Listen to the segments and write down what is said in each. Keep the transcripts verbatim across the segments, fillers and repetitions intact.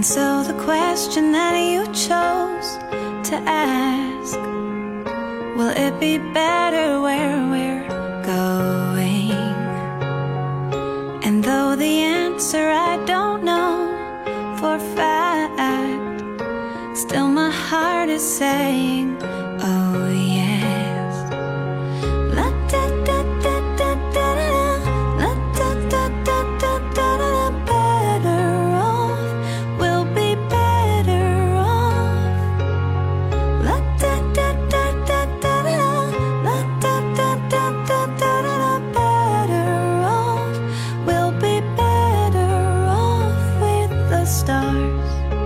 And so the question that you chose to ask, will it be better where we're going? And though the answer I don't know for fact, still my heart is saying, oh yes. La da da da da da da, la da da da da da da. Better off, we'll be better off. La da da da da da da, la da da da da da da. Better off, we'll be better off with the stars.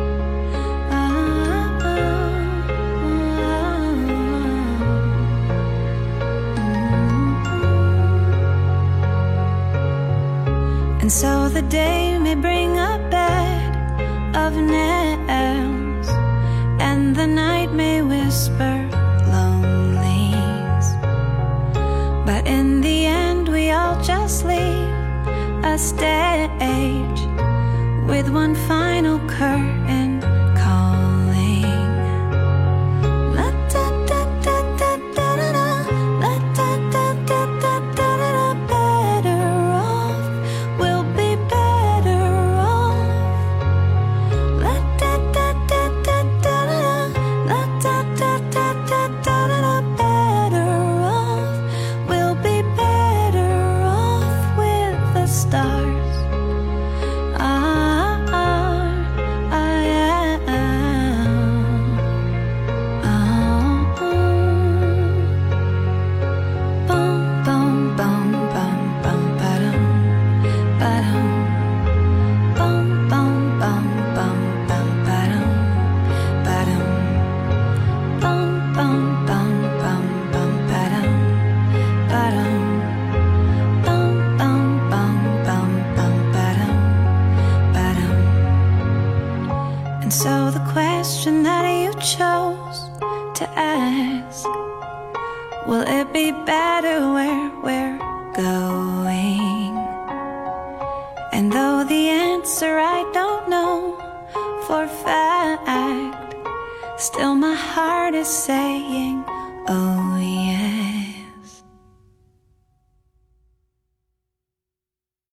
And so the day may bring a bed of nails, and the night may whisper lonelies, but in the end we all just leave a stage with one final curtain calling. La da da da da da da, la da da da da da da. Better off, we'll be better off. La da da da da da da, la da da da da da da. Better off, we'll be better off with the stars. Ah, ah, I am. Oh, boom, boom, boom, boom, boom, ba-dum, ba-dum. Boom, boom, boom, boom, boom, ba-dum, ba-dum. Boom, boom, boom, boom, boom, ba-dum, ba-dum. Boom, boom, boom, boom, boom, ba-dum, ba-dum. And so the question that you chose to ask, will it be better where we're going? And though the answer I don't know for fact, still my heart is saying,